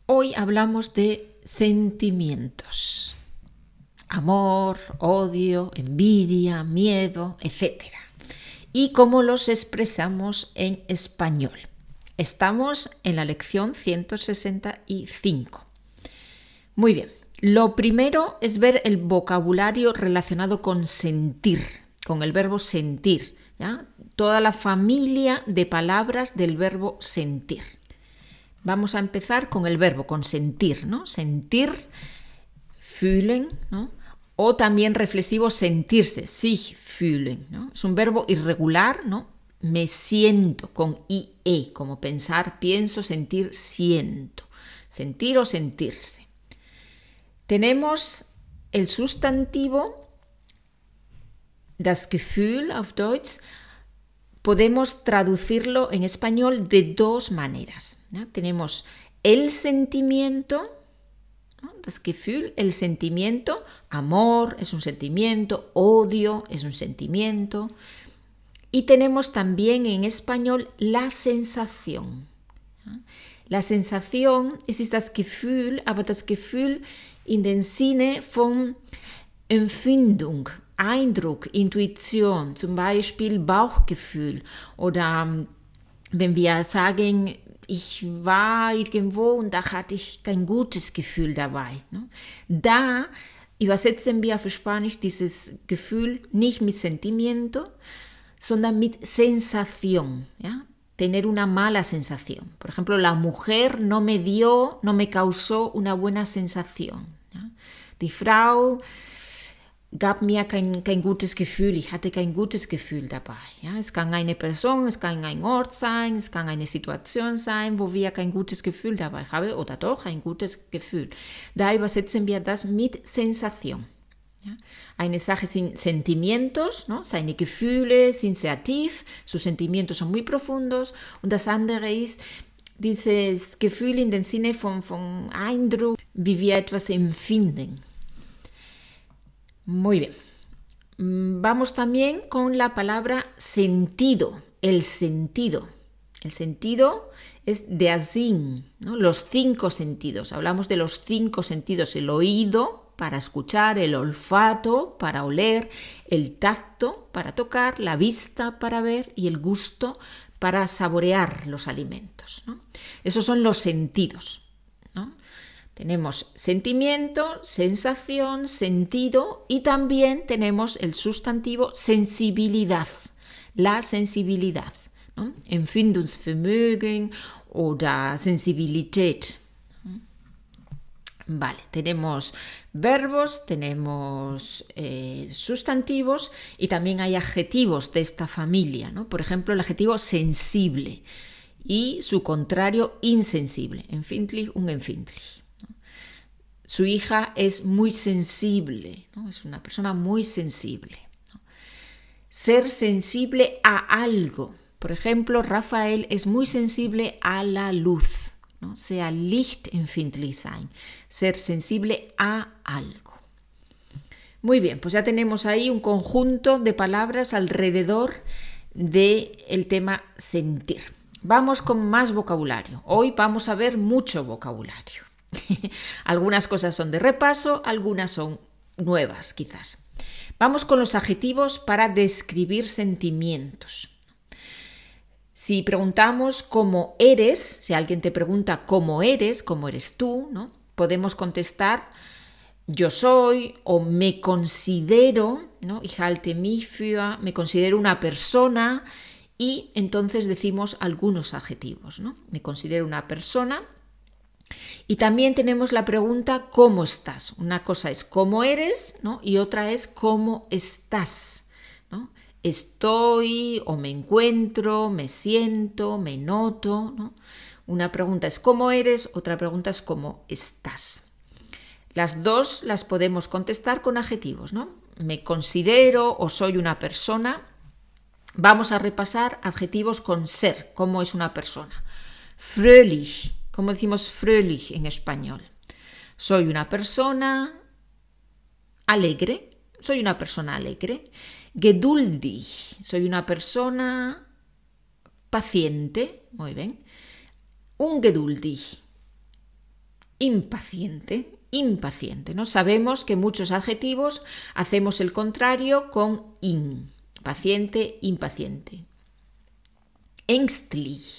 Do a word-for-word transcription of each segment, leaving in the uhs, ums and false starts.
Hoy hablamos de sentimientos. Amor, odio, envidia, miedo, etcétera. Y cómo los expresamos en español. Estamos en la lección ciento sesenta y cinco. Muy bien. Lo primero es ver el vocabulario relacionado con sentir, con el verbo sentir, ¿ya? Toda la familia de palabras del verbo sentir. Vamos a empezar con el verbo, con sentir, ¿no? Sentir, fühlen, ¿no? O también reflexivo sentirse, sich fühlen, ¿no? Es un verbo irregular, ¿no? Me siento, con ie, como pensar, pienso, sentir, siento. Sentir o sentirse. Tenemos el sustantivo, das Gefühl auf Deutsch. Podemos traducirlo en español de dos maneras, ¿no? Tenemos el sentimiento, ¿no? Das Gefühl, el sentimiento, amor es un sentimiento, odio es un sentimiento. Y tenemos también en español la sensación, ¿no? La sensación es das Gefühl, aber das Gefühl in den Sinne von Empfindung, Eindruck, Intuition, zum Beispiel Bauchgefühl. Oder wenn wir sagen, ich war irgendwo und da hatte ich kein gutes Gefühl dabei. Da übersetzen wir auf Spanisch dieses Gefühl nicht mit Sentimiento, sondern mit Sensación, ¿ya? Tener una mala sensación. Por ejemplo, la mujer no me dio, no me causó una buena sensación, ¿ya? Die Frau gab mir kein, kein gutes Gefühl, ich hatte kein gutes Gefühl dabei. Ja, es kann eine Person, es kann ein Ort sein, es kann eine Situation sein, wo wir kein gutes Gefühl dabei haben oder doch ein gutes Gefühl. Da übersetzen wir das mit Sensation. Ja, eine Sache sind Sentimientos, ¿no? Seine Gefühle sind sehr tief, sus sentimientos son muy profundos, und das andere ist dieses Gefühl in den Sinne von, von Eindruck, wie wir etwas empfinden. Muy bien. Vamos también con la palabra sentido, el sentido. El sentido es der Sinn, ¿no? Los cinco sentidos. Hablamos de los cinco sentidos, el oído para escuchar, el olfato para oler, el tacto para tocar, la vista para ver y el gusto para saborear los alimentos, ¿no? Esos son los sentidos, ¿no? Tenemos sentimiento, sensación, sentido y también tenemos el sustantivo sensibilidad, la sensibilidad, ¿no? Empfindungsvermögen oder Sensibilität. Vale, tenemos verbos, tenemos eh, sustantivos y también hay adjetivos de esta familia, ¿no? Por ejemplo, el adjetivo sensible y su contrario insensible, empfindlich, unempfindlich. Su hija es muy sensible, ¿no? Es una persona muy sensible, ¿no? Ser sensible a algo. Por ejemplo, Rafael es muy sensible a la luz, ¿no? Sehr lichtempfindlich sein. Ser sensible a algo. Muy bien, pues ya tenemos ahí un conjunto de palabras alrededor del tema sentir. Vamos con más vocabulario. Hoy vamos a ver mucho vocabulario. Algunas cosas son de repaso, algunas son nuevas quizás. Vamos con los adjetivos para describir sentimientos. Si preguntamos cómo eres, si alguien te pregunta cómo eres, cómo eres tú, ¿no? Podemos contestar yo soy o me considero, ¿no? Ich halte mich für, me considero una persona y entonces decimos algunos adjetivos, ¿no? Me considero una persona. Y también tenemos la pregunta ¿cómo estás? Una cosa es ¿cómo eres?, ¿no? Y otra es ¿cómo estás?, ¿no? Estoy o me encuentro, me siento, me noto, ¿no? Una pregunta es ¿cómo eres?, otra pregunta es ¿cómo estás? Las dos las podemos contestar con adjetivos, ¿no? Me considero o soy una persona. Vamos a repasar adjetivos con ser, ¿cómo es una persona? Fröhlich. ¿Cómo decimos fröhlich en español? Soy una persona alegre. Soy una persona alegre. Geduldig. Soy una persona paciente. Muy bien. Ungeduldig. impaciente. Impaciente, ¿no? Sabemos que muchos adjetivos hacemos el contrario con in. Paciente, impaciente. Ängstlich.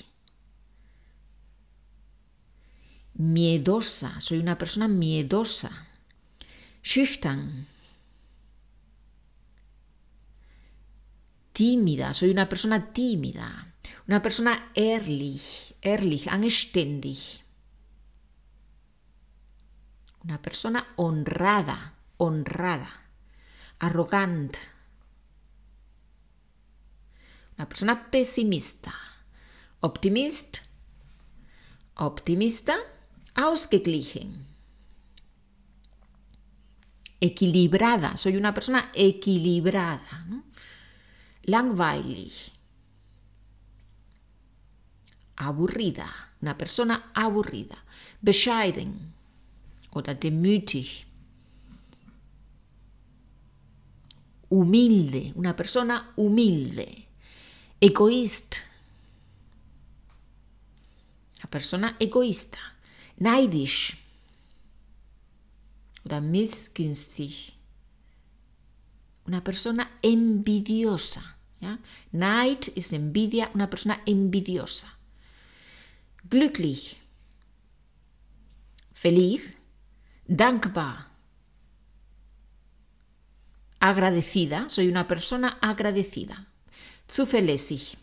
Miedosa. Soy una persona miedosa. Schüchtern. Tímida. Soy una persona tímida. Una persona ehrlich. Ehrlich, anständig. Una persona honrada, honrada, arrogant. Una persona pesimista, optimist, optimista, ausgeglichen. Equilibrada, soy una persona equilibrada, ¿no? Langweilig. Aburrida, una persona aburrida. Bescheiden. Oder demütig. Humilde, una persona humilde. Egoísta, una persona egoísta. Neidisch oder missgünstig, una persona envidiosa. ¿Ya? Neid es envidia, una persona envidiosa. Glücklich, feliz. Dankbar, agradecida, soy una persona agradecida. Zuverlässig,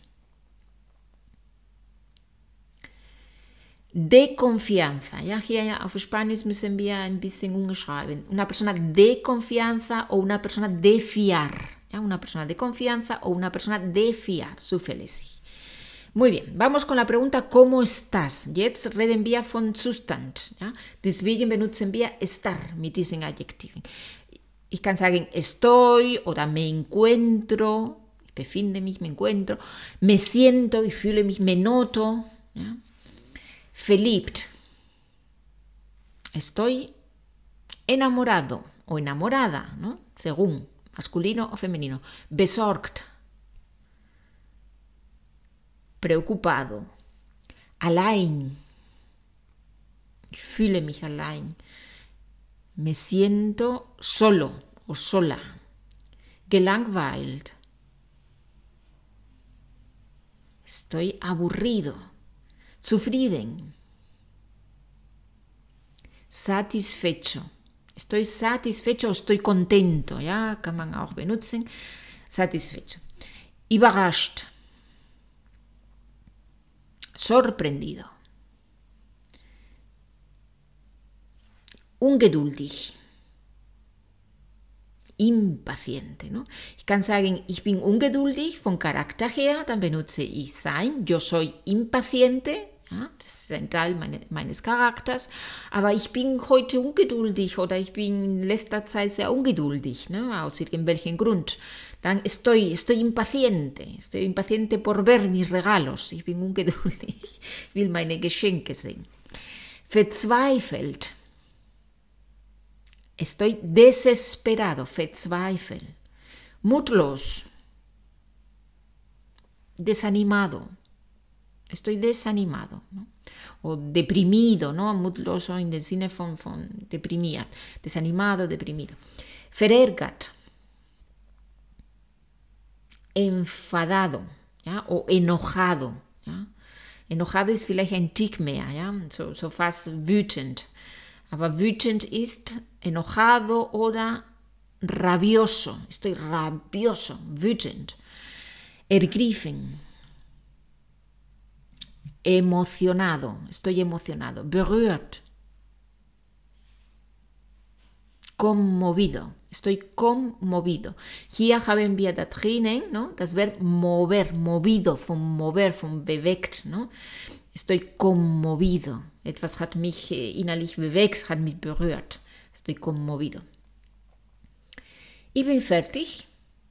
de confianza. Ja, hier auf Spanisch müssen wir ein bisschen umschreiben. Una persona de confianza o una persona de fiar. Ja, una persona de confianza o una persona de fiar. Zuverlässig. Muy bien, vamos con la pregunta ¿cómo estás? Jetzt reden wir von Zustand. Ja? Deswegen benutzen wir estar mit diesen Adjektiven. Ich kann sagen estoy oder me encuentro, ich befinde mich, me encuentro, me siento, ich fühle mich, me noto. Ja? Verliebt. Estoy enamorado o enamorada, ¿no? Según masculino o femenino. Besorgt. Preocupado, allein, ich fühle mich allein, me siento solo o sola, gelangweilt, estoy aburrido, zufrieden, satisfecho, estoy satisfecho o estoy contento, ja, kann man auch benutzen, satisfecho, überrascht, sorprendido. Ungeduldig. Impaciente. ¿No? Ich kann sagen, ich bin ungeduldig von Charakter her, dann benutze ich sein. Yo soy impaciente. Ja, das ist ein Teil meine, meines Charakters. Aber ich bin heute ungeduldig oder ich bin in letzter Zeit sehr ungeduldig, ne? Aus irgendwelchen Grund. Dann estoy, estoy impaciente. Estoy impaciente por ver mis regalos. Ich bin ungeduldig. Ich will meine Geschenke sehen. Verzweifelt. Estoy desesperado. Verzweifelt. Mutlos. Desanimado. Estoy desanimado, ¿no? O deprimido, ¿no? Mutloso in dem Sinne von, von deprimiert. Desanimado, deprimido. Verärgert. Enfadado, ¿ya? O enojado. ¿Ya? Enojado ist vielleicht ein Tick mehr, ¿ya? so, so fast wütend. Aber wütend ist enojado oder rabioso. Estoy rabioso, wütend. Ergriffen. Emocionado, estoy emocionado. Berührt. Conmovido, estoy conmovido. Hier haben wir da drinnen, ¿no? Das Verb mover, movido, von mover, von bewegt, ¿no? Estoy conmovido. Etwas hat mich innerlich bewegt, hat mich berührt. Estoy conmovido. Ich bin fertig.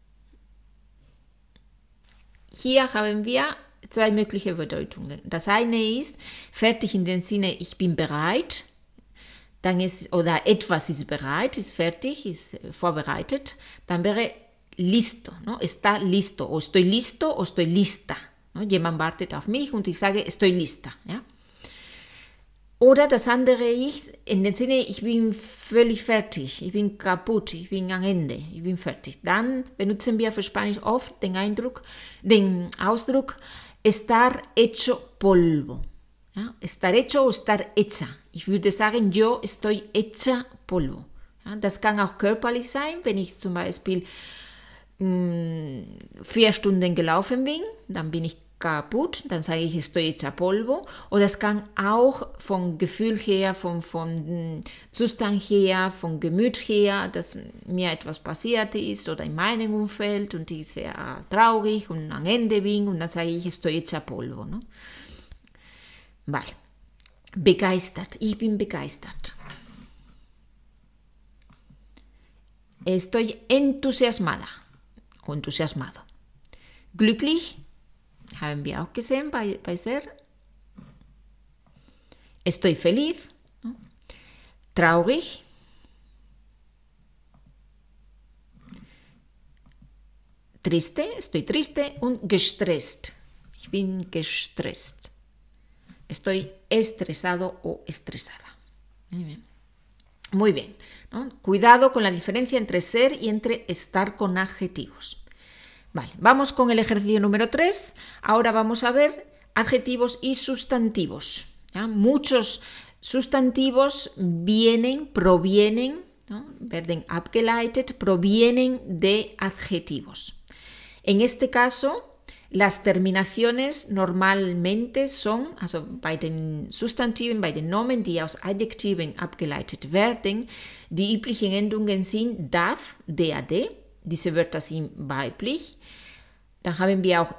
Hier haben wir zwei mögliche Bedeutungen. Das eine ist fertig in dem Sinne, ich bin bereit. Dann ist, oder etwas ist bereit, ist fertig, ist vorbereitet. Dann wäre listo, ¿no? Está listo. O estoy listo o estoy lista. ¿No? Jemand wartet auf mich und ich sage, estoy lista. ¿Ja? Oder das andere Ich, in dem Sinne, ich bin völlig fertig, ich bin kaputt, ich bin am Ende, ich bin fertig. Dann benutzen wir für Spanisch oft den Eindruck, den Ausdruck estar hecho polvo. Ja, estar hecho o estar hecha. Ich würde sagen, yo estoy hecha polvo. Ja, das kann auch körperlich sein, wenn ich zum Beispiel mh, vier Stunden gelaufen bin, dann bin ich kaputt, dann sage ich, estoy hecha polvo. Oder es kann auch vom Gefühl her, vom, vom Zustand her, vom Gemüt her, dass mir etwas passiert ist oder in meinem Umfeld und ich sehr traurig und am Ende bin und dann sage ich, estoy hecha polvo. ¿No? Vale. Begeistert, ich bin begeistert. Estoy entusiasmada o entusiasmado. Glücklich, haben wir auch gesehen bei, bei ser. Estoy feliz. ¿No? Traurig. Triste, estoy triste und gestresst. Ich bin gestresst. Estoy estresado o estresada. Muy bien. Muy bien, ¿no? Cuidado con la diferencia entre ser y entre estar con adjetivos. Vale, vamos con el ejercicio número tres. Ahora vamos a ver adjetivos y sustantivos. ¿Ya? Muchos sustantivos vienen, provienen, ¿no? Werden abgeleitet, provienen de adjetivos. En este caso, las terminaciones normalmente son, also bei den Substantiven, bei den Nomen, die aus Adjektiven abgeleitet werden, die üblichen Endungen sind darf, dad, diese Wörter sind weiblich. Dann haben wir auch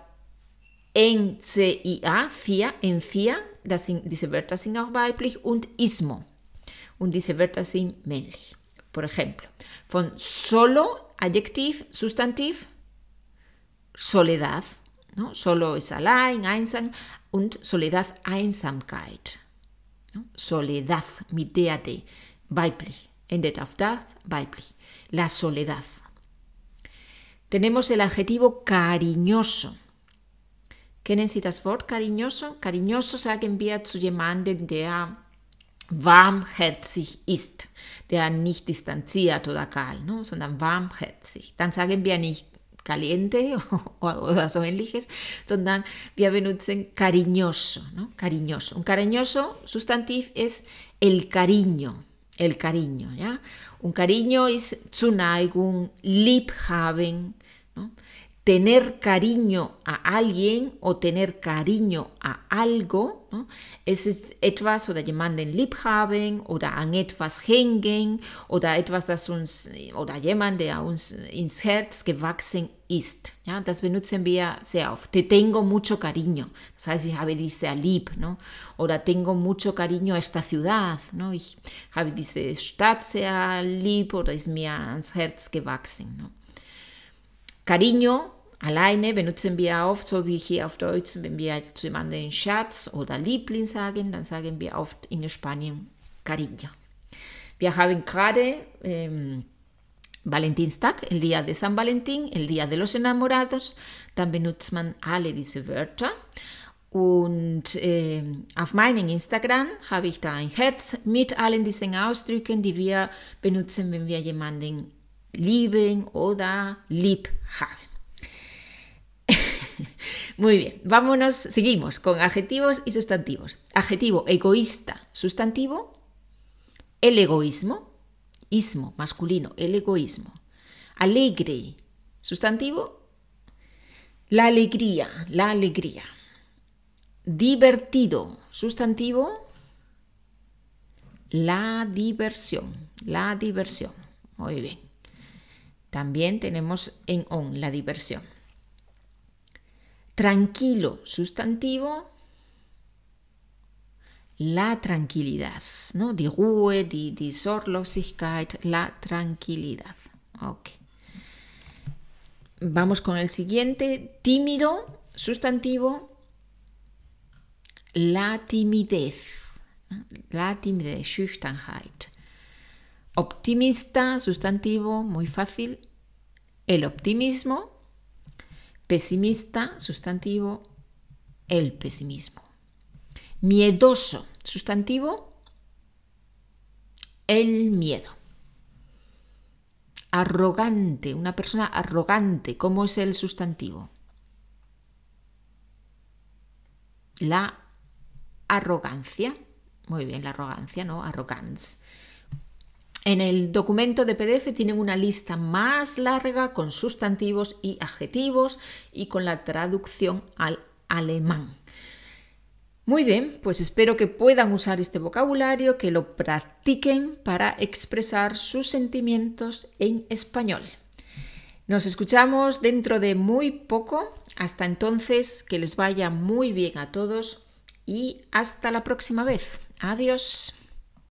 ncia, cia, encia, das sind, diese Wörter sind auch weiblich und ismo. Und diese Wörter sind männlich. Por ejemplo, von solo, Adjektiv, Substantiv, Soledad. ¿No? Solo es allein, einsam und Soledad, Einsamkeit. ¿No? Soledad, mit dad, weiblich. Endet auf das, weiblich. La soledad. Tenemos el adjetivo cariñoso. Kennen Sie das Wort cariñoso? Cariñoso sagen wir zu jemandem, der warmherzig ist, der nicht distanziert oder kalt, ¿no? Sondern warmherzig. Dann sagen wir nicht caliente oder so ähnliches, sondern wir benutzen cariñoso, ¿no? Cariñoso. Un cariñoso sustantiv es el cariño, el cariño, ¿ya? Un cariño es Zuneigung, Liebhaben, ¿no? Tener cariño a alguien o tener cariño a algo, ¿no? Es ist etwas oder jemanden liebhaben oder an etwas hängen oder etwas, das uns oder jemand, der uns ins Herz gewachsen ist. Ja, das benutzen wir sehr oft. Te tengo mucho cariño. Das heißt, ich habe dich sehr lieb, ¿no? Oder tengo mucho cariño a esta ciudad, ¿no? Ich habe diese Stadt sehr lieb oder ist mir ans Herz gewachsen, ¿no? Cariño, alleine benutzen wir oft, so wie hier auf Deutsch, wenn wir zu jemandem Schatz oder Liebling sagen, dann sagen wir oft in Spanien Cariño. Wir haben gerade ähm, Valentinstag, el Día de San Valentín, el Día de los Enamorados, dann benutzt man alle diese Wörter. Und äh, auf meinem Instagram habe ich da ein Herz mit allen diesen Ausdrücken, die wir benutzen, wenn wir jemanden lieben oder lieb haben. Muy bien, vámonos, seguimos con adjetivos y sustantivos. Adjetivo egoísta, sustantivo, el egoísmo, ismo, masculino, el egoísmo. Alegre, sustantivo, la alegría, la alegría. Divertido, sustantivo, la diversión, la diversión. Muy bien. También tenemos en on la diversión. Tranquilo, sustantivo, la tranquilidad, ¿no? Die Ruhe, die, die Sorglosigkeit, la tranquilidad. Ok. Vamos con el siguiente. Tímido, sustantivo, la timidez, ¿no? La timidez, Schüchternheit. Optimista, sustantivo, muy fácil, el optimismo. Pesimista, sustantivo, el pesimismo. Miedoso, sustantivo, el miedo. Arrogante, una persona arrogante, ¿cómo es el sustantivo? La arrogancia. Muy bien, la arrogancia, ¿no? Arrogance. En el documento de P D F tienen una lista más larga con sustantivos y adjetivos y con la traducción al alemán. Muy bien, pues espero que puedan usar este vocabulario, que lo practiquen para expresar sus sentimientos en español. Nos escuchamos dentro de muy poco. Hasta entonces, que les vaya muy bien a todos y hasta la próxima vez. Adiós.